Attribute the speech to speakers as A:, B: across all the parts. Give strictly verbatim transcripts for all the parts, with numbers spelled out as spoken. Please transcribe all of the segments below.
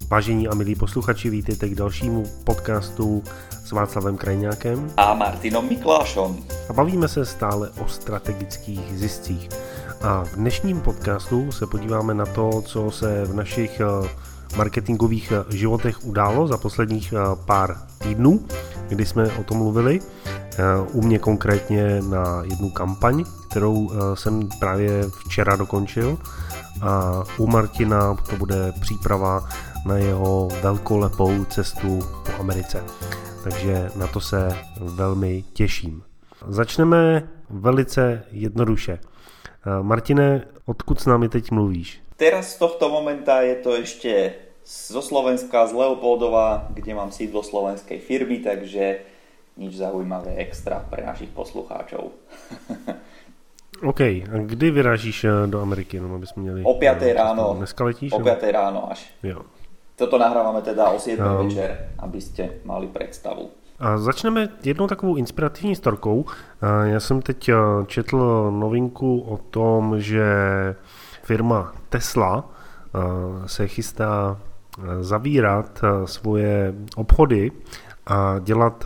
A: Vážení a milí posluchači, vítejte k dalšímu podcastu s Václavem Krajňákem
B: a Martinom Miklášom.
A: A bavíme se stále o strategických ziscích. A v dnešním podcastu se podíváme na to, co se v našich marketingových životech událo za posledních pár týdnů, kdy jsme o tom mluvili. U mě konkrétně na jednu kampaň, kterou jsem právě včera dokončil, a u Martina to bude příprava na jeho velkolepou cestu po Americe. Takže na to se velmi těším. Začneme velice jednoduše. Martine, odkud s námi teď mluvíš?
B: Teraz z tohto momenta je to ešte zo Slovenska, z Leopoldova, kde mám sídlo slovenskej firmy, takže nič zaujímavé extra pre našich poslucháčov.
A: OK, a kdy vyrážíš do Ameriky? No, aby jsme měli...
B: O piatej ráno.
A: Dneska letíš?
B: O piatej ráno až.
A: Jo.
B: Toto nahrávame teda o siedmej um, večer, aby ste mali představu.
A: A začneme jednou takovou inspirativní storkou. Já jsem teď četl novinku o tom, že firma Tesla se chystá zavírat svoje obchody a dělat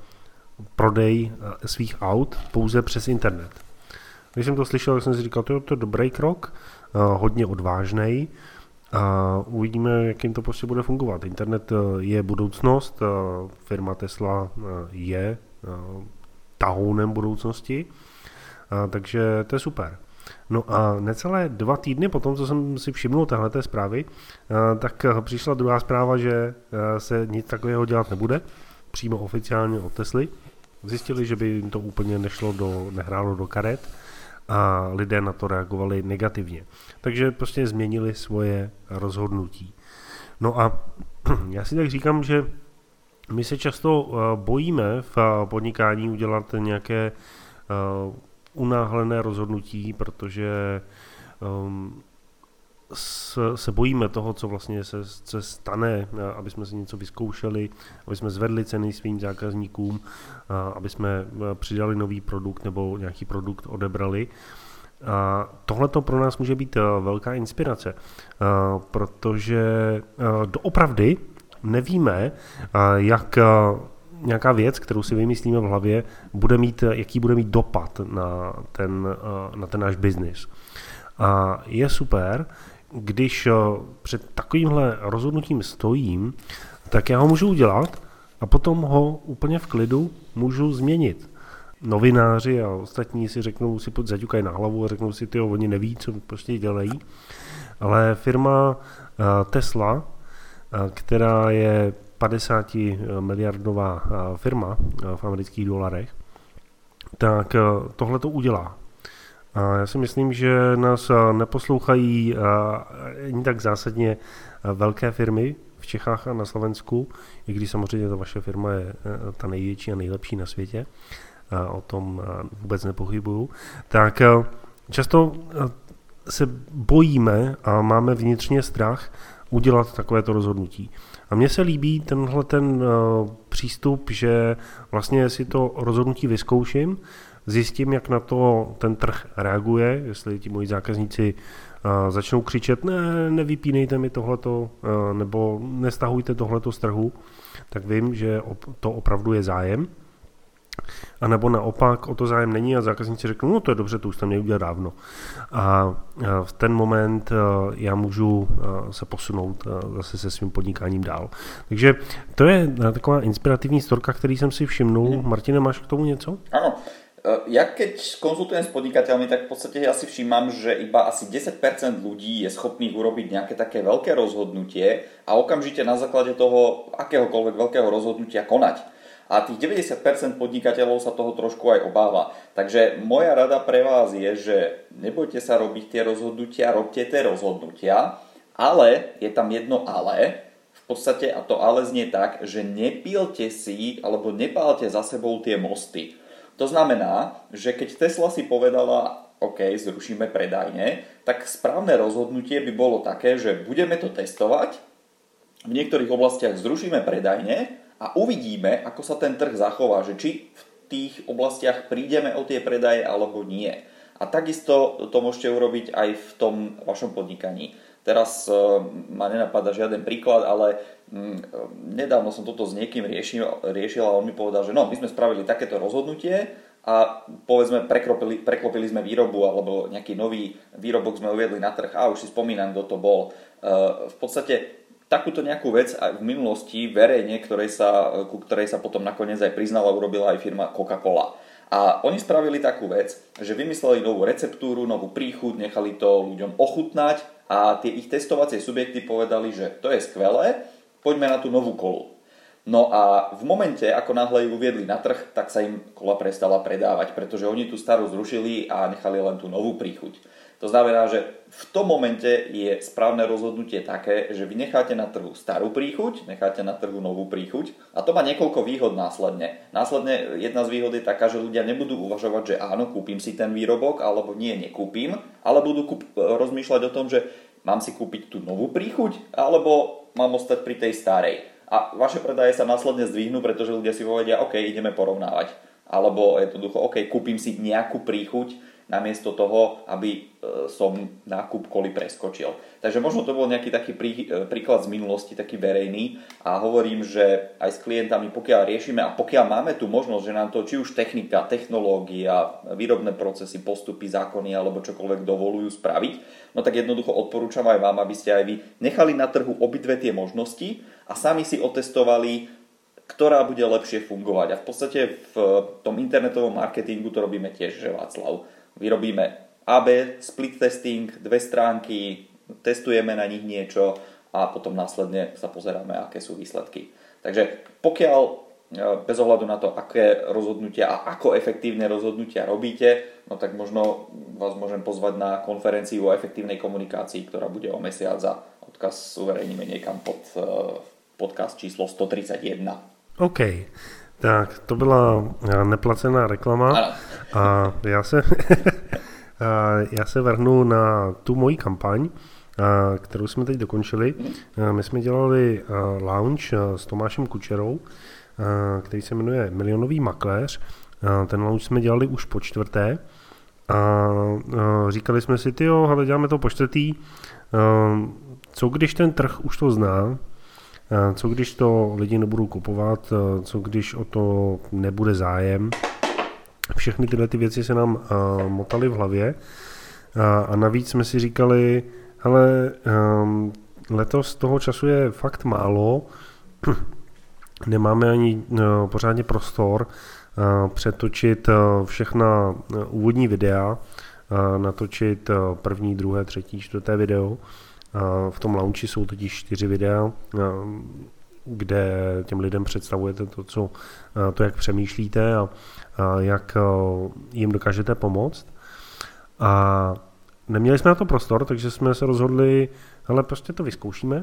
A: prodej svých aut pouze přes internet. Když jsem to slyšel, tak jsem si říkal, to je to dobrý krok, hodně odvážnej. A uvidíme, jak jim to prostě bude fungovat. Internet je budoucnost, firma Tesla je tahounem budoucnosti, takže to je super. No a necelé dva týdny potom, co jsem si všimnul téhleté zprávy, tak přišla druhá zpráva, že se nic takového dělat nebude, přímo oficiálně od Tesly. Zjistili, že by jim to úplně nešlo do, nehrálo do karet, a lidé na to reagovali negativně. Takže prostě změnili svoje rozhodnutí. No a já si tak říkám, že my se často bojíme v podnikání udělat nějaké unáhlené rozhodnutí, protože se bojíme toho, co vlastně se, se stane, aby jsme si něco vyzkoušeli, aby jsme zvedli ceny svým zákazníkům, aby jsme přidali nový produkt nebo nějaký produkt odebrali. A tohle to pro nás může být velká inspirace, protože doopravdy nevíme, jak nějaká věc, kterou si vymyslíme v hlavě, bude mít, jaký bude mít dopad na ten, na ten náš biznis. A je super, když před takovýmhle rozhodnutím stojím, tak já ho můžu udělat a potom ho úplně v klidu můžu změnit. Novináři a ostatní si řeknou, si zaťukají na hlavu a řeknou si, tyjo, oni neví, co prostě dělají. Ale firma Tesla, která je padesátimiliardová firma v amerických dolarech, tak tohle to udělá. A já si myslím, že nás neposlouchají ani tak zásadně velké firmy v Čechách a na Slovensku, i když samozřejmě ta vaše firma je ta největší a nejlepší na světě, o tom vůbec nepochybuju, tak často se bojíme a máme vnitřně strach udělat takovéto rozhodnutí. A mně se líbí tenhle ten přístup, že vlastně si to rozhodnutí vyzkouším, zjistím, jak na to ten trh reaguje, jestli ti moji zákazníci uh, začnou křičet, ne, nevypínejte mi tohleto, uh, nebo nestahujte tohleto z trhu, tak vím, že op- to opravdu je zájem. A nebo naopak o to zájem není a zákazníci řeknou, no to je dobře, to už tam neudělat dávno. A uh, v ten moment uh, já můžu uh, se posunout uh, zase se svým podnikáním dál. Takže to je uh, taková inspirativní storka, který jsem si všimnul. Hmm. Martine, máš k tomu něco?
B: Áno. Ja keď konzultujem s podnikateľmi, tak v podstate ja si všímam, že iba asi desať percent ľudí je schopných urobiť nejaké také veľké rozhodnutie a okamžite na základe toho akéhokoľvek veľkého rozhodnutia konať. A tých deväťdesiat percent podnikateľov sa toho trošku aj obáva. Takže moja rada pre vás je, že nebojte sa robiť tie rozhodnutia, robte tie rozhodnutia, ale je tam jedno ale, v podstate, a to ale znie tak, že nepílte si alebo nepálte za sebou tie mosty. To znamená, že keď Tesla si povedala, OK, zrušíme predajne, tak správne rozhodnutie by bolo také, že budeme to testovať, v niektorých oblastiach zrušíme predajne a uvidíme, ako sa ten trh zachová, že či v tých oblastiach prídeme o tie predaje alebo nie. A takisto to môžete urobiť aj v tom vašom podnikaní. Teraz ma nenapadá žiaden príklad, ale nedávno som toto s niekým riešil, riešil a on mi povedal, že no, my sme spravili takéto rozhodnutie a povedzme preklopili, preklopili sme výrobu alebo nejaký nový výrobok sme uviedli na trh a už si spomínam, kto to bol. V podstate takúto nejakú vec aj v minulosti verejne, ktorej sa, ku ktorej sa potom nakoniec aj priznala, urobila aj firma Coca-Cola. A oni spravili takú vec, že vymysleli novú receptúru, novú príchuť, nechali to ľuďom ochutnať a tie ich testovacie subjekty povedali, že to je skvelé, poďme na tú novú kolu. No a v momente, ako náhle ju uviedli na trh, tak sa im kola prestala predávať, pretože oni tú starú zrušili a nechali len tú novú príchuť. To znamená, že v tom momente je správne rozhodnutie také, že vy necháte na trhu starú príchuť, necháte na trhu novú príchuť a to má niekoľko výhod následne. Následne jedna z výhod je taká, že ľudia nebudú uvažovať, že áno, kúpim si ten výrobok, alebo nie, nekúpim, ale budú kúp- rozmýšľať o tom, že mám si kúpiť tú novú príchuť, alebo mám ostať pri tej starej. A vaše predaje sa následne zdvihnú, pretože ľudia si povedia, OK, ideme porovnávať. Alebo jednoducho, OK, kúpim si nejakú príchuť, namiesto toho, aby som nákup koly preskočil. Takže možno to bol nejaký taký prí, príklad z minulosti, taký verejný a hovorím, že aj s klientami, pokiaľ riešime a pokiaľ máme tu možnosť, že nám to či už technika, technológia, výrobné procesy, postupy, zákony alebo čokoľvek dovolujú spraviť, no tak jednoducho odporúčam aj vám, aby ste aj vy nechali na trhu obidve tie možnosti a sami si otestovali, ktorá bude lepšie fungovať. A v podstate v tom internetovom marketingu to robíme tiež, že Václav. Vyrobíme á bé, split testing, dve stránky, testujeme na nich niečo a potom následne sa pozeráme, aké sú výsledky. Takže pokiaľ bez ohľadu na to, aké rozhodnutia a ako efektívne rozhodnutia robíte, no tak možno vás môžem pozvať na konferenciu o efektívnej komunikácii, ktorá bude o mesiac a odkaz uverejníme niekam pod podcast číslo sto tridsaťjeden.
A: OK. Tak, to byla neplacená reklama.
B: Ano.
A: A já se, já se vrhnu na tu moji kampaň, kterou jsme teď dokončili. My jsme dělali launch s Tomášem Kučerou, který se jmenuje Milionový makléř. Ten launch jsme dělali už po čtvrté a říkali jsme si, tyjo, hele, děláme to po čtvrtý, co když ten trh už to zná, co když to lidi nebudou kupovat, co když o to nebude zájem. Všechny tyhle ty věci se nám uh, motaly v hlavě uh, a navíc jsme si říkali, hele, um, letos toho času je fakt málo, nemáme ani uh, pořádně prostor uh, přetočit uh, všechna uh, úvodní videa, uh, natočit uh, první, druhé, třetí, čtvrté video. V tom launchi jsou totiž čtyři videa, kde těm lidem představujete to, co, to jak přemýšlíte a jak jim dokážete pomoct. A neměli jsme na to prostor, takže jsme se rozhodli, hele, prostě to vyzkoušíme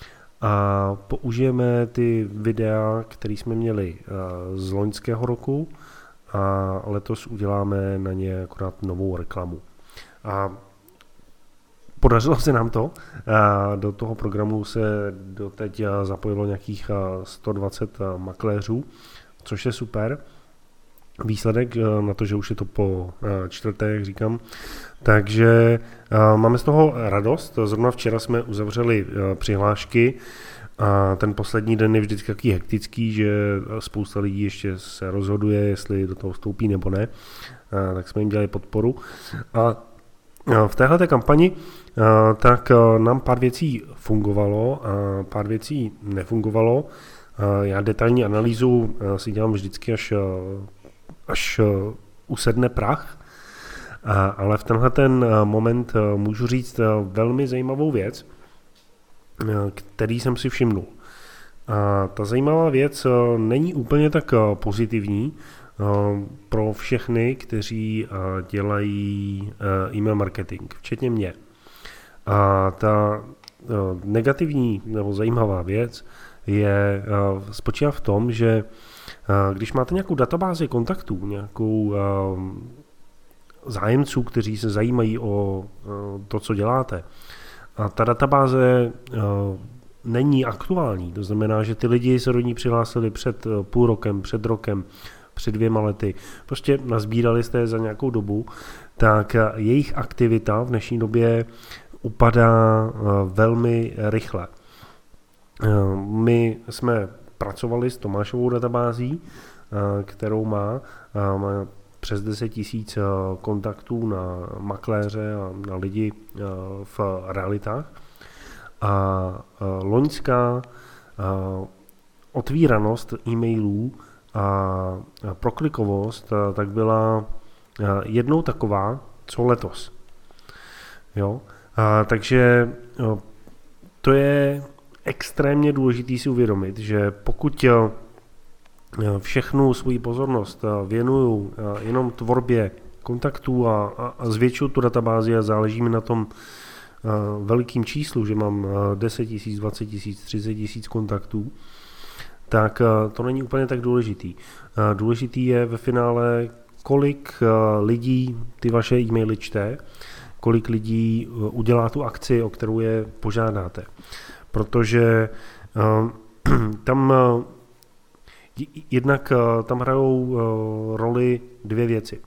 A: a použijeme ty videa, které jsme měli z loňského roku a letos uděláme na ně akorát novou reklamu. A podařilo se nám to. Do toho programu se doteď zapojilo nějakých sto dvacet makléřů, což je super. Výsledek na to, že už je to po čtvrté, jak říkám. Takže máme z toho radost. Zrovna včera jsme uzavřeli přihlášky a ten poslední den je vždycky takový hektický, že spousta lidí ještě se rozhoduje, jestli do toho vstoupí nebo ne. Tak jsme jim dělali podporu. A v téhleté kampani tak nám pár věcí fungovalo a pár věcí nefungovalo. Já detailní analýzu si dělám vždycky, až, až usedne prach, ale v tenhle ten moment můžu říct velmi zajímavou věc, který jsem si všimnul. A ta zajímavá věc není úplně tak pozitivní pro všechny, kteří dělají e-mail marketing, včetně mě. A ta negativní nebo zajímavá věc je spočívá v tom, že když máte nějakou databázi kontaktů, nějakou zájemců, kteří se zajímají o to, co děláte, a ta databáze není aktuální, to znamená, že ty lidi se do ní přihlásili před půl rokem, před rokem, před dvěma lety, prostě nazbírali jste za nějakou dobu, tak jejich aktivita v dnešní době upadá velmi rychle. My jsme pracovali s Tomášovou databází, kterou má, má přes deset tisíc kontaktů na makléře a na lidi v realitách. A loňská otvíranost e-mailů a proklikovost tak byla jednou taková, co letos. Jo? A, takže to je extrémně důležité si uvědomit, že pokud všechnu svou pozornost věnuju jenom tvorbě kontaktů a, a zvětšuju tu databázi a záleží mi na tom velikým číslu, že mám deset tisíc, dvacet tisíc, třicet tisíc kontaktů, tak to není úplně tak důležitý. Důležitý je ve finále, kolik lidí ty vaše e-maily čte, kolik lidí udělá tu akci, o kterou je požádáte. Protože tam jednak tam hrajou roli dvě věci.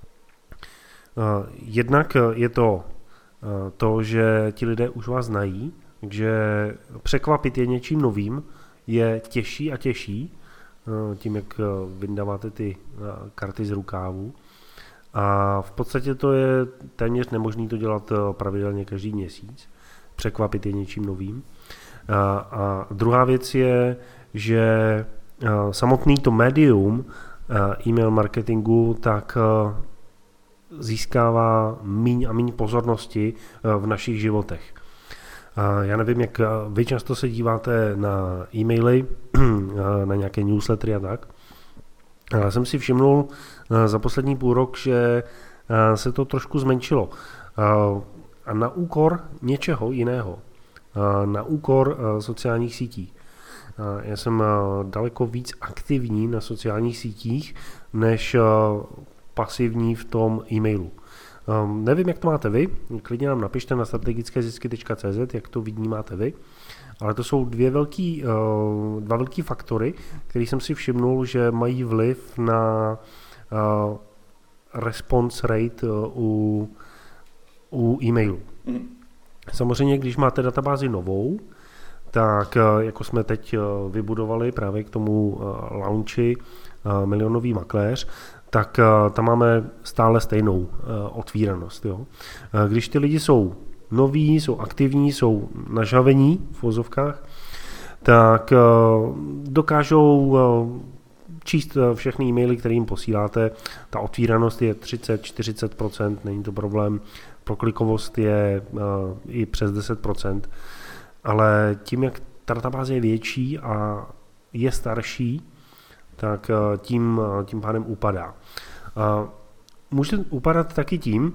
A: Jednak je to to, že ti lidé už vás znají, že překvapit je něčím novým je těžší a těžší, tím, jak vyndáváte ty karty z rukávu. A v podstatě to je téměř nemožné to dělat pravidelně každý měsíc, překvapit je něčím novým. A, a druhá věc je, že samotný to médium e-mail marketingu tak získává míň a míň pozornosti v našich životech. Já nevím, jak vy často se díváte na e-maily, na nějaké newslettery a tak. Já jsem si všimnul za poslední půl rok, že se to trošku zmenšilo. A na úkor něčeho jiného. Na úkor sociálních sítí. Já jsem daleko víc aktivní na sociálních sítích, než pasivní v tom e-mailu. Um, nevím, jak to máte vy, klidně nám napište na strategické zisky tečka cé zet, jak to vnímáte vy, ale to jsou dvě velký, uh, dva velký faktory, který jsem si všimnul, že mají vliv na uh, response rate uh, u, u e-mailu. Mm. Samozřejmě, když máte databázi novou, tak uh, jako jsme teď uh, vybudovali právě k tomu uh, launchi uh, Milionový makléř, tak uh, tam máme stále stejnou uh, otvíranost. Jo. Uh, když ty lidi jsou noví, jsou aktivní, jsou nažavení v vozovkách, tak uh, dokážou uh, číst uh, všechny e-maily, které jim posíláte. Ta otvíranost je třicet až čtyřicet procent, není to problém. Proklikovost je uh, i přes deset procent. Ale tím, jak ta databáze je větší a je starší, tak tím, tím pádem upadá. Může upadat taky tím,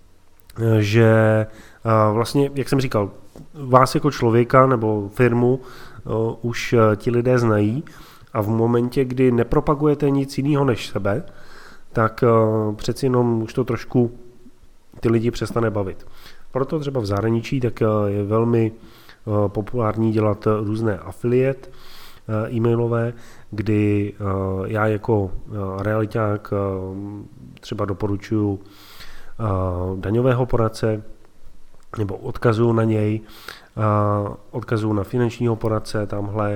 A: že vlastně, jak jsem říkal, vás jako člověka nebo firmu už ti lidé znají a v momentě, kdy nepropagujete nic jiného než sebe, tak přeci jenom už to trošku ty lidi přestane bavit. Proto třeba v zahraničí tak je velmi populární dělat různé affiliate e-mailové, kdy já jako realiťák třeba doporučuji daňového poradce nebo odkazuju na něj, odkazuju na finančního poradce tamhle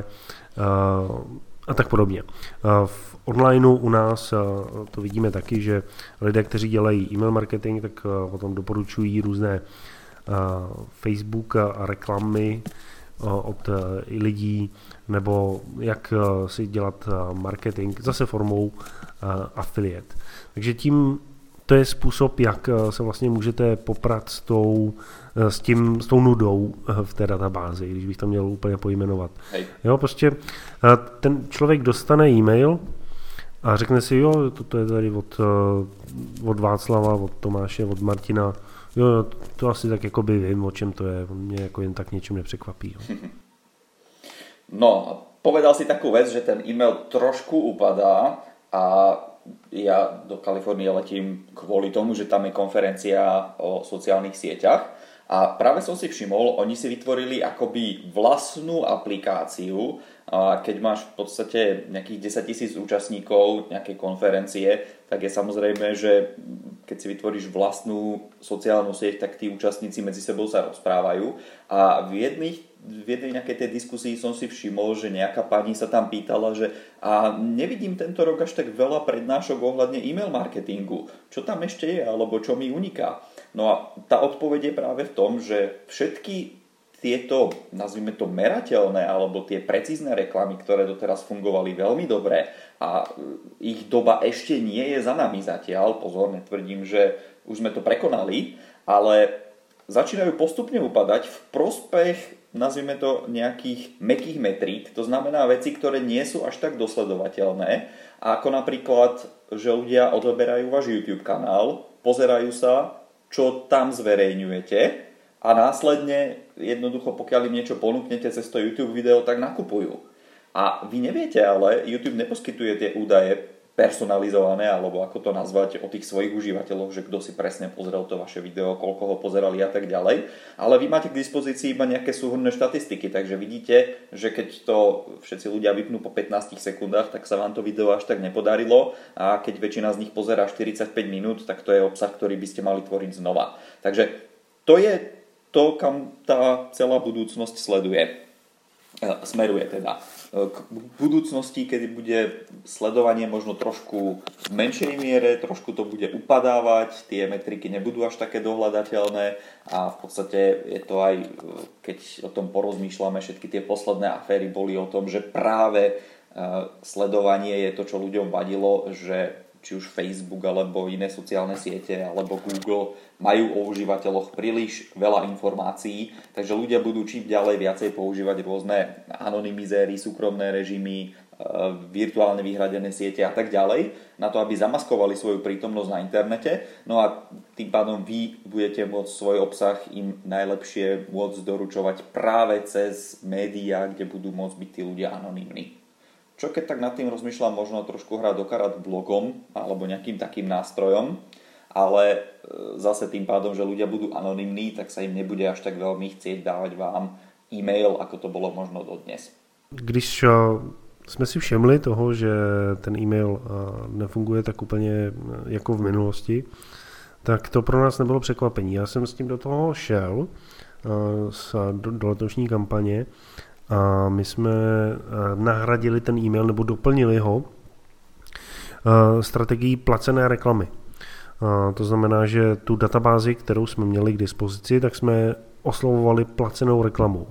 A: a tak podobně. V onlineu u nás to vidíme taky, že lidé, kteří dělají e-mail marketing, tak potom doporučují různé Facebook a reklamy od lidí, nebo jak si dělat marketing zase formou affiliate. Takže tím to je způsob, jak se vlastně můžete poprat s tou, s tím, s tou nudou v té databázi, když bych to měl úplně pojmenovat. Hej. Jo, prostě ten člověk dostane e-mail a řekne si, jo, toto je tady od, od Václava, od Tomáše, od Martina. Jo, to asi tak jako by vím, o čem to je. Mě jako jen tak něčím nepřekvapí. Jo.
B: No, povedal si takú vec, že ten e-mail trošku upadá a ja do Kalifornie letím kvôli tomu, že tam je konferencia o sociálnych sieťach a práve som si všimol, oni si vytvorili akoby vlastnú aplikáciu a keď máš v podstate nejakých desať tisíc účastníkov nejakej konferencie, tak je samozrejme, že keď si vytvoríš vlastnú sociálnu sieť, tak tí účastníci medzi sebou sa rozprávajú a v jedných v jednej nejakej tej diskusii som si všimol, že nejaká pani sa tam pýtala, že a nevidím tento rok až tak veľa prednášok ohľadne e-mail marketingu. Čo tam ešte je, alebo čo mi uniká? No a tá odpoveď je práve v tom, že všetky tieto, nazvime to merateľné, alebo tie precízne reklamy, ktoré doteraz fungovali veľmi dobre a ich doba ešte nie je za nami zatiaľ, pozor, netvrdím, že už sme to prekonali, ale začínajú postupne upadať v prospech, nazvime to, nejakých mäkkých metrík, to znamená veci, ktoré nie sú až tak dosledovateľné, ako napríklad, že ľudia odoberajú váš YouTube kanál, pozerajú sa, čo tam zverejňujete a následne jednoducho, pokiaľ im niečo ponúknete cez to YouTube video, tak nakupujú. A vy neviete, ale YouTube neposkytuje tie údaje personalizované, alebo ako to nazvať, o tých svojich užívateľoch, že kto si presne pozrel to vaše video, koľko ho pozerali a tak ďalej. Ale vy máte k dispozícii iba nejaké súhrnné štatistiky, takže vidíte, že keď to všetci ľudia vypnú po pätnástich sekundách, tak sa vám to video až tak nepodarilo a keď väčšina z nich pozerá štyridsaťpäť minút, tak to je obsah, ktorý by ste mali tvoriť znova. Takže to je to, kam tá celá budúcnosť sleduje. Smeruje teda k budúcnosti, kedy bude sledovanie možno trošku v menšej miere, trošku to bude upadávať, tie metriky nebudú až také dohľadateľné a v podstate je to aj, keď o tom porozmýšľame, všetky tie posledné aféry boli o tom, že práve sledovanie je to, čo ľuďom vadilo, že či už Facebook alebo iné sociálne siete alebo Google majú o užívateľoch príliš veľa informácií, takže ľudia budú čím ďalej viacej používať rôzne anonymizéry, súkromné režimy, virtuálne vyhradené siete a tak ďalej, na to, aby zamaskovali svoju prítomnosť na internete. No a tým pádom vy budete môcť svoj obsah im najlepšie môcť doručovať práve cez médiá, kde budú môcť byť tí ľudia anonymní. Čo keď tak nad tým rozmýšľam, možno trošku hrať do karát blogom alebo nejakým takým nástrojom, ale zase tým pádom, že ľudia budú anonymní, tak sa im nebude až tak veľmi chcieť dávať vám e-mail, ako to bolo možno dodnes.
A: Když jsme si všimli toho, že ten e-mail nefunguje tak úplně jako v minulosti, tak to pro nás nebylo překvapení. Já jsem s tím do toho šel, do, do letošní kampaně, a my jsme nahradili ten e-mail nebo doplnili ho strategií placené reklamy. To znamená, že tu databázi, kterou jsme měli k dispozici, tak jsme oslovovali placenou reklamou.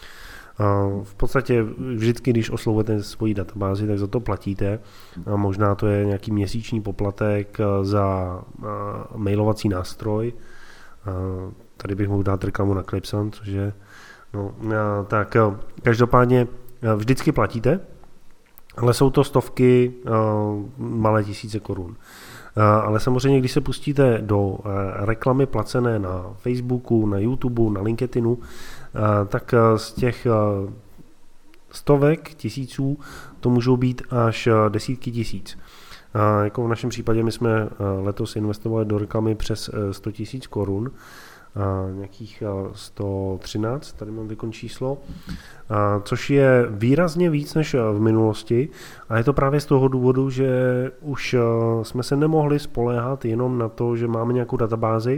A: V podstatě vždycky, když oslovujete svoji databázi, tak za to platíte. Možná to je nějaký měsíční poplatek za mailovací nástroj. Tady bych mohl dát reklamu na Clipson, což je No, tak každopádně vždycky platíte, ale jsou to stovky, malé tisíce korun. Ale samozřejmě, když se pustíte do reklamy placené na Facebooku, na YouTube, na LinkedInu, tak z těch stovek tisíců to můžou být až desítky tisíc. Jako v našem případě my jsme letos investovali do reklamy přes sto tisíc korun, nějakých sto třináct, tady mám výkon číslo, což je výrazně víc než v minulosti a je to právě z toho důvodu, že už jsme se nemohli spoléhat jenom na to, že máme nějakou databázi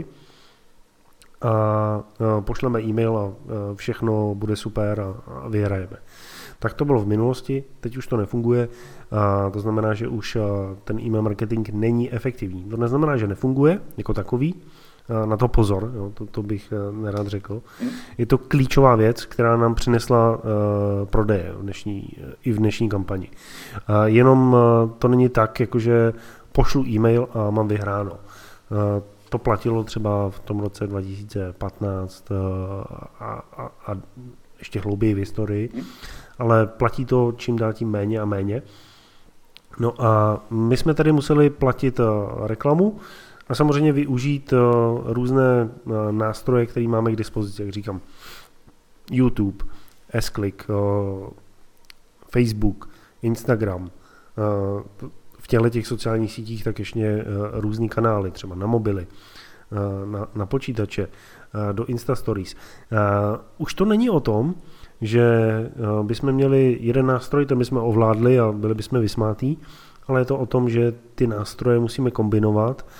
A: a pošleme e-mail a všechno bude super a vyhrajeme. Tak to bylo v minulosti, teď už to nefunguje, a to znamená, že už ten e-mail marketing není efektivní. To neznamená, že nefunguje jako takový, na to pozor, jo, to, to bych nerad řekl. Je to klíčová věc, která nám přinesla uh, prodeje v dnešní, i v dnešní kampani. Uh, jenom uh, to není tak, jakože pošlu e-mail a mám vyhráno. Uh, to platilo třeba v tom roce dva tisíce patnáct uh, a, a, a ještě hlouběji v historii, ale platí to čím dál tím méně a méně. No a my jsme tady museli platit uh, reklamu, a samozřejmě využít uh, různé uh, nástroje, které máme k dispozici, jak říkám. YouTube, S-Click, uh, Facebook, Instagram. Uh, v těchto těch sociálních sítích tak ještě uh, různý kanály, třeba na mobily, uh, na, na počítače, uh, do Insta Stories. Uh, už to není o tom, že uh, bychom měli jeden nástroj, ten bychom ovládli a byli bychom vysmátí, ale je to o tom, že ty nástroje musíme kombinovat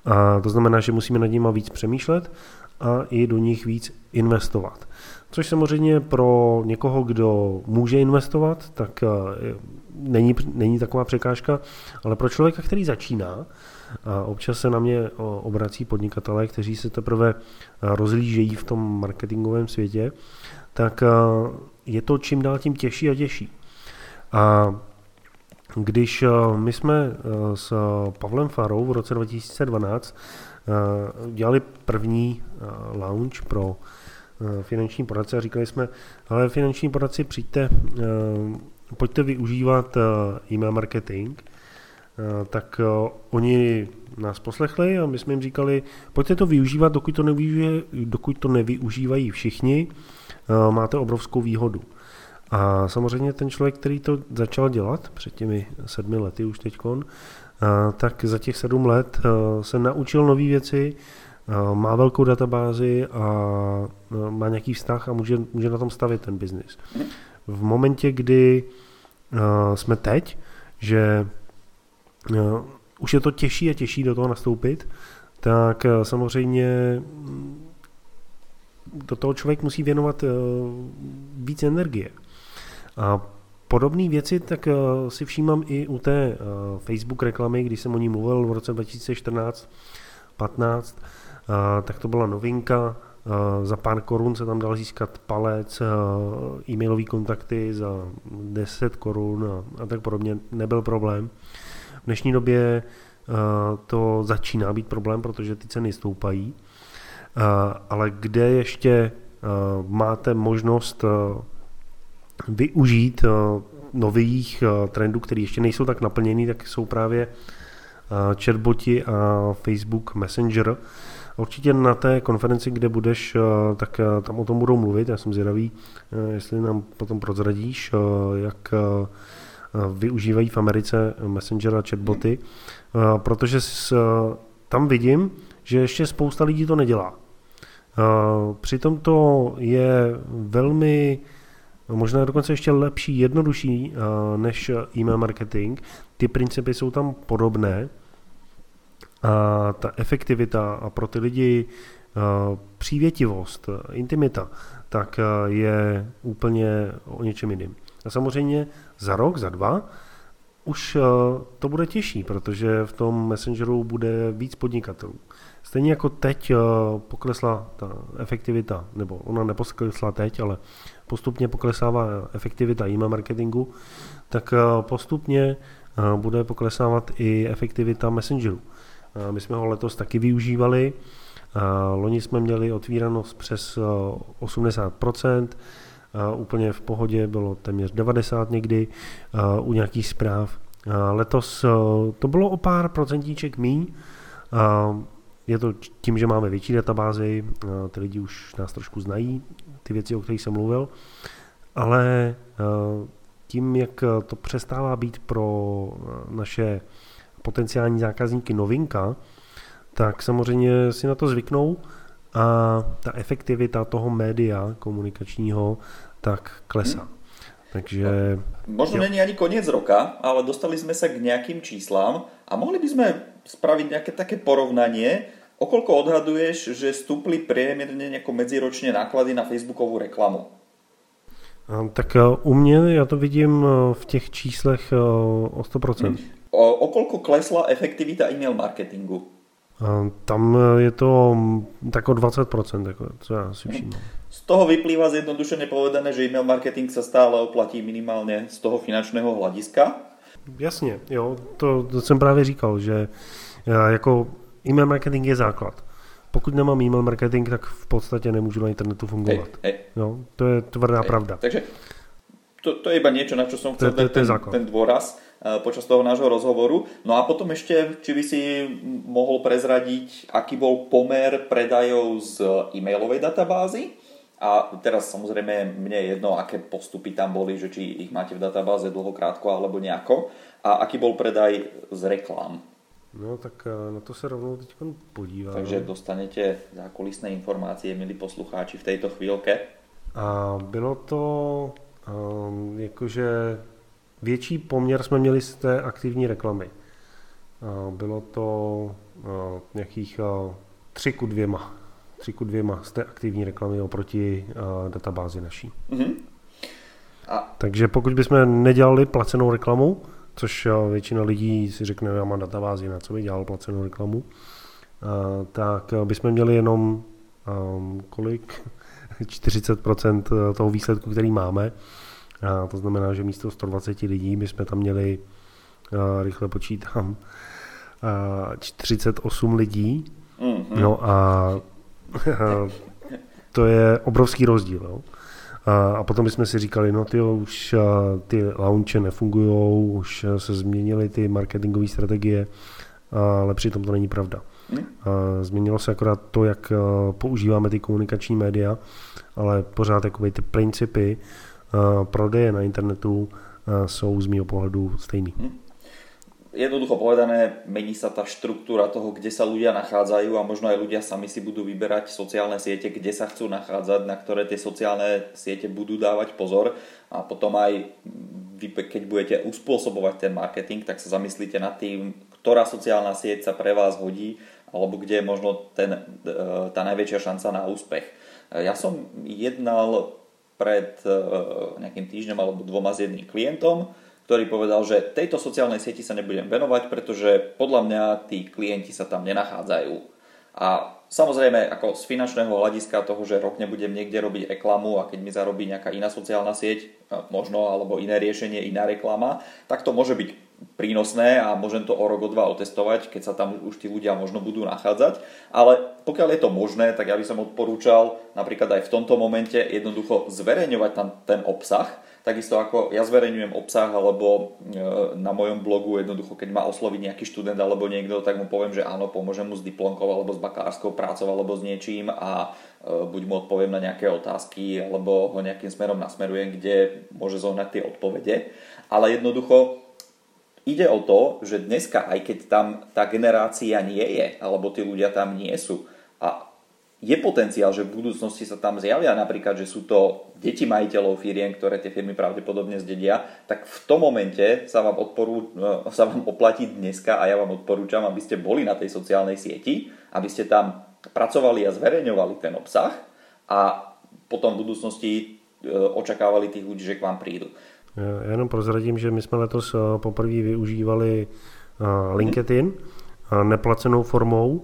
A: A to znamená, že musíme nad nimi víc přemýšlet a i do nich víc investovat. Což samozřejmě pro někoho, kdo může investovat, tak není, není taková překážka, ale pro člověka, který začíná, a občas se na mě obrací podnikatelé, kteří se teprve rozhlížejí v tom marketingovém světě, tak je to čím dál tím těžší a těžší. A když my jsme s Pavlem Farou v roce dva tisíce dvanáct dělali první launch pro finanční poradce a říkali jsme, ale finanční poradci, přijďte, pojďte využívat e-mail marketing, tak oni nás poslechli a my jsme jim říkali, pojďte to využívat, dokud to, nevyužije, dokud to nevyužívají všichni, máte obrovskou výhodu. A samozřejmě ten člověk, který to začal dělat před těmi sedmi lety už teďkon, tak za těch sedm let se naučil nové věci, má velkou databázi a má nějaký vztah a může, může na tom stavit ten biznis. V momentě, kdy jsme teď, že už je to těžší a těžší do toho nastoupit, tak samozřejmě do toho člověk musí věnovat víc energie. A podobné věci tak si všímám i u té Facebook reklamy, když jsem o ní mluvil v roce dva tisíce čtrnáct patnáct, tak to byla novinka. Za pár korun se tam dal získat palec, e-mailové kontakty za deset korun a, a tak podobně. Nebyl problém. V dnešní době to začíná být problém, protože ty ceny stoupají. Ale kde ještě máte možnost využít nových trendů, které ještě nejsou tak naplněný, tak jsou právě chatboti a Facebook Messenger. Určitě na té konferenci, kde budeš, tak tam o tom budou mluvit. Já jsem zvědavý, jestli nám potom prozradíš, jak využívají v Americe Messenger a chatboty, protože tam vidím, že ještě spousta lidí to nedělá. Přitom to je velmi, možná dokonce ještě lepší, jednodušší než e-mail marketing. Ty principy jsou tam podobné a ta efektivita a pro ty lidi přívětivost, intimita, tak je úplně o něčem jiným. A samozřejmě za rok, za dva už to bude těžší, protože v tom Messengeru bude víc podnikatelů. Stejně jako teď poklesla ta efektivita, nebo ona nepoklesla teď, ale postupně poklesává efektivita e-mail marketingu, tak postupně bude poklesávat i efektivita Messengeru. My jsme ho letos taky využívali, loni jsme měli otvíranost přes osmdesát procent, úplně v pohodě bylo téměř devadesát procent někdy u nějakých zpráv. Letos to bylo o pár procentíček míň. Je to tím, že máme větší databázi, ty lidi už nás trošku znají, ty věci, o kterých jsem mluvil, ale tím, jak to přestává být pro naše potenciální zákazníky novinka, tak samozřejmě si na to zvyknou a ta efektivita toho média komunikačního tak klesá. Hmm. Takže...
B: Možno jo. Není ani koniec roka, ale dostali sme sa k nejakým číslam a mohli by sme spraviť nejaké také porovnanie, okoľko odhaduješ, že stúpli priemerne nejako medziročne náklady na Facebookovú reklamu?
A: Tak u mě já to vidím v těch číslech o sto procent. Hmm.
B: O, okoľko klesla efektivita e-mail marketingu?
A: Tam je to tak o dvacet procent, jako, co já si všimám.
B: Z toho vyplýva zjednodušene povedané, že e-mail marketing sa stále oplatí minimálně z toho finančného hlediska?
A: Jasně, jo, to, to jsem právě říkal, že jako e-mail marketing je základ. Pokud nemám e-mail marketing, tak v podstatě nemůžu na internetu fungovat. Hej, hej. Jo, to je tvrdá hej. pravda.
B: Takže to, to je iba niečo, na čo som chcel
A: to, to, to
B: ten, ten dôraz počas toho nášho rozhovoru. No a potom ešte, či by si mohol prezradiť, aký bol pomer predajov z e-mailovej databázy. A teraz samozrejme mne je jedno, aké postupy tam boli, že či ich máte v databáze dlho, krátko alebo nejako. A aký bol predaj z reklám.
A: No tak na to se rovnou teď podívám.
B: Takže dostanete zákulisné informácie, milí poslucháči, v tejto chvíľke.
A: A bylo to um, jakože větší poměr jsme měli z té aktivní reklamy. Bylo to nějakých tři ku dvěma. tři ku dvěma z té aktivní reklamy oproti databázi naší. Mm-hmm. A... Takže pokud bychom nedělali placenou reklamu, což většina lidí si řekne, já mám databázi, na co by dělal placenou reklamu, tak bychom měli jenom kolik? čtyřicet procent toho výsledku, který máme. A to znamená, že místo sto dvacet lidí bychom tam měli, rychle počítám, čtyřicet osm lidí. Mm-hmm. No a to je obrovský rozdíl. Jo? A, a potom bychom si říkali, no tyjo, už ty launche nefungujou, už se změnily ty marketingové strategie, ale přitom to není pravda. Mm. Změnilo se akorát to, jak používáme ty komunikační média, ale pořád jakoby ty principy prodeje na internetu jsou z mýho pohľadu stejný. Mm.
B: Jednoducho povedané, mení sa tá štruktúra toho, kde sa ľudia nachádzajú a možno aj ľudia sami si budú vyberať sociálne siete, kde sa chcú nachádzať, na ktoré tie sociálne siete budú dávať pozor a potom aj vy, keď budete uspôsobovať ten marketing, tak sa zamyslíte nad tým, ktorá sociálna sieť sa pre vás hodí alebo kde je možno ten, tá najväčšia šanca na úspech. Ja som jednal pred nejakým týždňom alebo dvoma s jedným klientom, ktorý povedal, že tejto sociálnej sieti sa nebudem venovať, pretože podľa mňa tí klienti sa tam nenachádzajú. A samozrejme, ako z finančného hľadiska toho, že rok nebudem niekde robiť reklamu a keď mi zarobí nejaká iná sociálna sieť, možno, alebo iné riešenie, iná reklama, tak to môže byť prínosné a môžem to o rok, o dva otestovať, keď sa tam už tí ľudia možno budú nachádzať. Ale pokiaľ je to možné, tak ja by som odporúčal napríklad aj v tomto momente jednoducho zverejňovať tam ten obsah. Takisto ako ja zverejňujem obsah alebo na mojom blogu jednoducho, keď ma osloví nejaký študent alebo niekto, tak mu poviem, že áno, pomôžem mu s diplomkou alebo s bakalárskou prácou alebo s niečím a buď mu odpoviem na nejaké otázky alebo ho nejakým smerom nasmerujem, kde môže zohnať tie odpovede. Ale jednoducho ide o to, že dneska, aj keď tam tá generácia nie je, alebo tí ľudia tam nie sú a je potenciál, že v budúcnosti sa tam zjavia napríklad, že sú to deti majiteľov firiem, ktoré tie firmy pravdepodobne zdedia, tak v tom momente sa vám, odporú, sa vám oplatí dneska a ja vám odporúčam, aby ste boli na tej sociálnej sieti, aby ste tam pracovali a zverejňovali ten obsah a potom v budúcnosti očakávali tých ľudí, že k vám prídu.
A: Já jenom prozradím, že my jsme letos poprvé využívali LinkedIn neplacenou formou.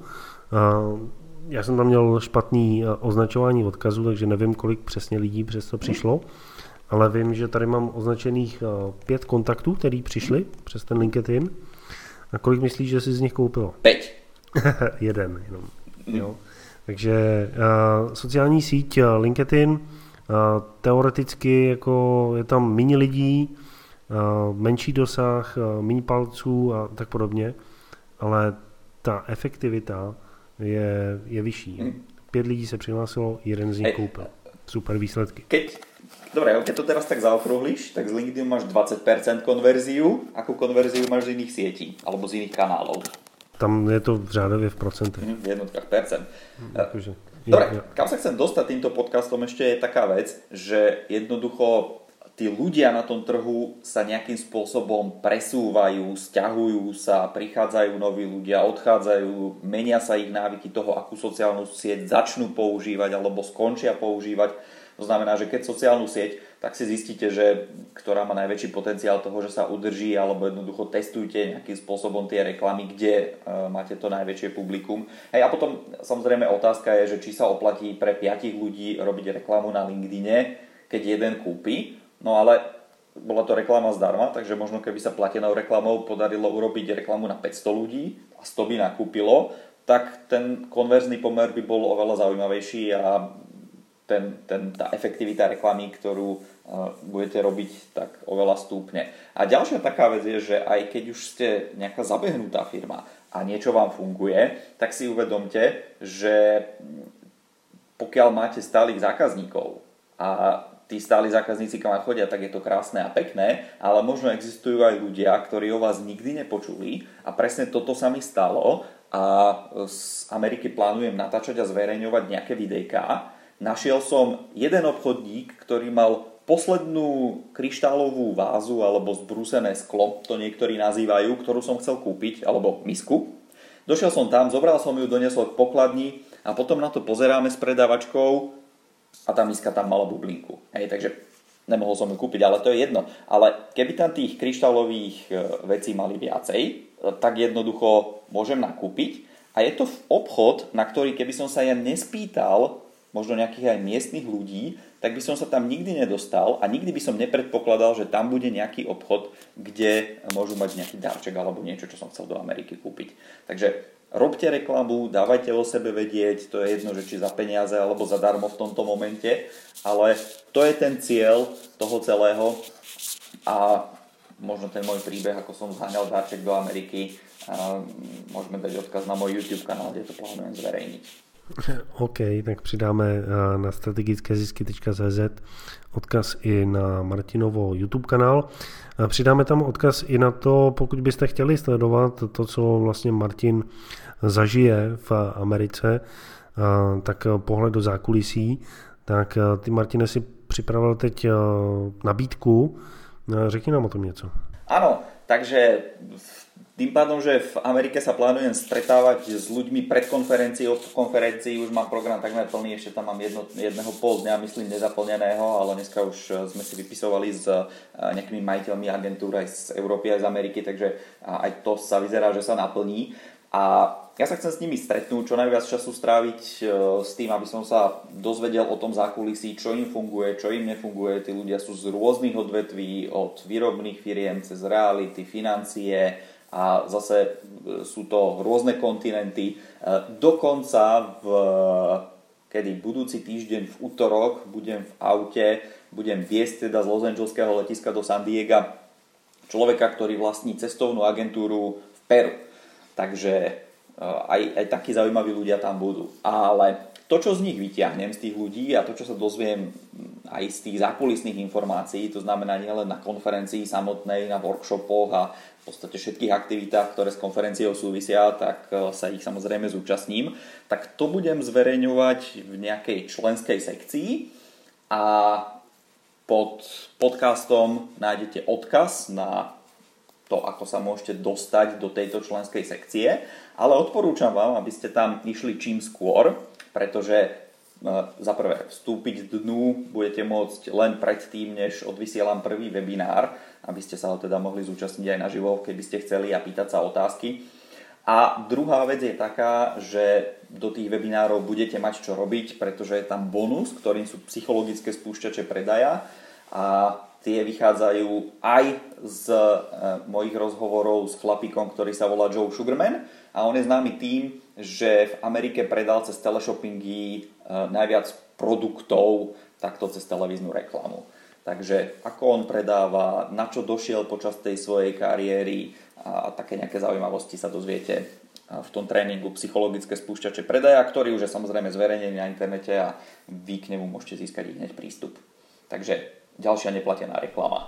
A: Já jsem tam měl špatný označování odkazu, takže nevím, kolik přesně lidí přes to přišlo, ale vím, že tady mám označených pět kontaktů, který přišli přes ten LinkedIn. A kolik myslíš, že jsi z nich koupilo?
B: Pět.
A: Jeden jenom. Jo. Takže uh, sociální síť LinkedIn, uh, teoreticky jako je tam méně lidí, uh, menší dosah, uh, méně palců a tak podobně, ale ta efektivita je, je vyšší. Hmm. Pět lidí se přihlásilo, jeden z nich koupil. Super výsledky.
B: Keď, dobre, keď to teraz tak zaokrúhliš, tak z LinkedIn máš dvadsať percent konverziu. Akú konverziu máš z iných sietí? Alebo z iných kanálov?
A: Tam je to v řádově v procentech.
B: Hmm, v jednotkách percent.
A: Akože,
B: dobre,
A: ja, ja.
B: kam sa chcem dostať týmto podcastom ešte je taká vec, že jednoducho tí ľudia na tom trhu sa nejakým spôsobom presúvajú, sťahujú sa, prichádzajú noví ľudia, odchádzajú, menia sa ich návyky toho, akú sociálnu sieť začnú používať alebo skončia používať. To znamená, že keď sociálnu sieť, tak si zistíte, že ktorá má najväčší potenciál toho, že sa udrží, alebo jednoducho testujte nejakým spôsobom tie reklamy, kde uh, máte to najväčšie publikum. Hej, a potom samozrejme otázka je, že či sa oplatí pre piatich ľudí robiť reklamu na LinkedIne, keď jeden kúpi. No ale bola to reklama zdarma, takže možno keby sa platenou reklamou podarilo urobiť reklamu na päťsto ľudí a sto by nakúpilo, tak ten konverzný pomer by bol oveľa zaujímavejší a ten, ten, tá efektivita reklamy, ktorú uh, budete robiť, tak oveľa stúpne. A ďalšia taká vec je, že aj keď už ste nejaká zabehnutá firma a niečo vám funguje, tak si uvedomte, že pokiaľ máte stálych zákazníkov a tí stáli zákazníci, kam chodia, tak je to krásne a pekné, ale možno existujú aj ľudia, ktorí o vás nikdy nepočuli a presne toto sa mi stalo a z Ameriky plánujem natáčať a zverejňovať nejaké videjká. Našiel som jeden obchodník, ktorý mal poslednú kryštálovú vázu alebo zbrúsené sklo, to niektorí nazývajú, ktorú som chcel kúpiť, alebo misku. Došiel som tam, zobral som ju, doniesol k pokladni a potom na to pozeráme s predávačkou a tá miska tam mala bublinku. Hej, takže nemohol som ju kúpiť, ale to je jedno. Ale keby tam tých kryštálových vecí mali viacej, tak jednoducho môžem nakúpiť. A je to obchod, na ktorý keby som sa ja nespýtal, možno nejakých aj miestnych ľudí, tak by som sa tam nikdy nedostal a nikdy by som nepredpokladal, že tam bude nejaký obchod, kde môžu mať nejaký darček alebo niečo, čo som chcel do Ameriky kúpiť. Takže robte reklamu, dávajte o sebe vedieť, to je jedno, že či za peniaze alebo zadarmo v tomto momente, ale to je ten cieľ toho celého a možno ten môj príbeh, ako som zháňal darček do Ameriky, môžeme dať odkaz na môj YouTube kanál, kde to plánujem zverejniť.
A: OK, tak přidáme na strategické zisky tečka cé zet odkaz i na Martinovo YouTube kanál. Přidáme tam odkaz i na to, pokud byste chtěli sledovat to, co vlastně Martin zažije v Americe, tak pohled do zákulisí, tak ty, Martine, si připravil teď nabídku. Řekni nám o tom něco.
B: Áno, takže tým pádom, že v Amerike sa plánujem stretávať s ľuďmi pred konferenciou, po konferencii už mám program takmer plný, ešte tam mám jedno, jedného pol dňa, myslím, nezaplneného, ale dneska už sme si vypisovali s nejakými majiteľmi agentúr aj z Európy, aj z Ameriky, takže aj to sa vyzerá, že sa naplní. A ja sa chcem s nimi stretnúť, čo najviac času stráviť s tým, aby som sa dozvedel o tom zákulisí, čo im funguje, čo im nefunguje. Tí ľudia sú z rôznych odvetví, od výrobných firiem cez reality, financie a zase sú to rôzne kontinenty. Dokonca v, kedy budúci týždeň v utorok budem v aute, budem viesť teda z Los Angeleského letiska do San Diega človeka, ktorý vlastní cestovnú agentúru v Peru. Takže aj, aj takí zaujímaví ľudia tam budú. Ale to, čo z nich vyťahnem, z tých ľudí a to, čo sa dozviem aj z tých zákulisných informácií, to znamená nielen na konferencii samotnej, na workshopoch a v podstate všetkých aktivitách, ktoré s konferenciou súvisia, tak sa ich samozrejme zúčastním, tak to budem zverejňovať v nejakej členskej sekcii a pod podcastom nájdete odkaz na to, ako sa môžete dostať do tejto členskej sekcie, ale odporúčam vám, aby ste tam išli čím skôr, pretože za prvé vstúpiť dnu budete môcť len predtým, než odvysielam prvý webinár, aby ste sa ho teda mohli zúčastniť aj naživo, keby ste chceli a pýtať sa otázky. A druhá vec je taká, že do tých webinárov budete mať čo robiť, pretože je tam bonus, ktorým sú psychologické spúšťače predaja a tie vychádzajú aj z e, mojich rozhovorov s chlapíkom, ktorý sa volá Joe Sugarman a on je známy tým, že v Amerike predal cez teleshoppingy e, najviac produktov takto cez televíznu reklamu. Takže ako on predáva, na čo došiel počas tej svojej kariéry a, a také nejaké zaujímavosti sa dozviete v tom tréningu psychologické spúšťače predaja, ktorý už je samozrejme zverejnený na internete a vy k nemu môžete získať hneď prístup. Takže ďalšia neplatená reklama.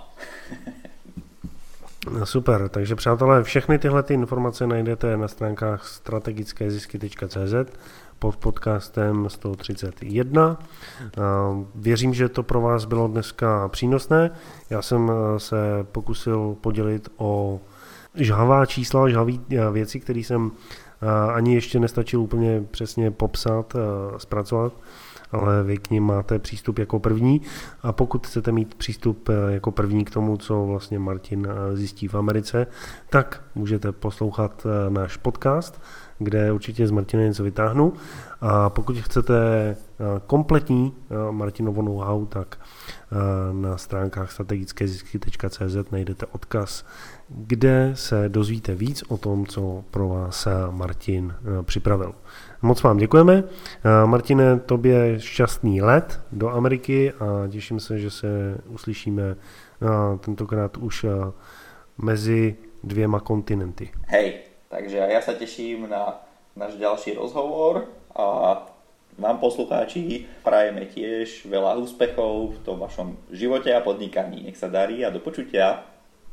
A: Super, takže přátelé, všechny tyhle ty informace najdete na stránkách strategické zisky tečka cé zet pod podcastem sto třicet jedna. Věřím, že to pro vás bylo dneska přínosné. Já jsem se pokusil podělit o žhavá čísla, žhavý věci, které jsem ani ještě nestačil úplně přesně popsat, zpracovat, ale vy k nim máte přístup jako první a pokud chcete mít přístup jako první k tomu, co vlastně Martin zjistí v Americe, tak můžete poslouchat náš podcast, kde určitě z Martina něco vytáhnu a pokud chcete kompletní Martinovo know-how, tak na stránkách strategické zisky tečka cé zet najdete odkaz, kde se dozvíte víc o tom, co pro vás Martin připravil. Moc vám děkujeme. Martine, tobě šťastný let do Ameriky a těším se, že se uslyšíme tentokrát už mezi dvěma kontinenty.
B: Hej, takže ja sa teším na náš ďalší rozhovor a vám poslucháči prajeme tiež veľa úspechov v tom vašom živote a podnikaní. Nech sa darí a do počutia.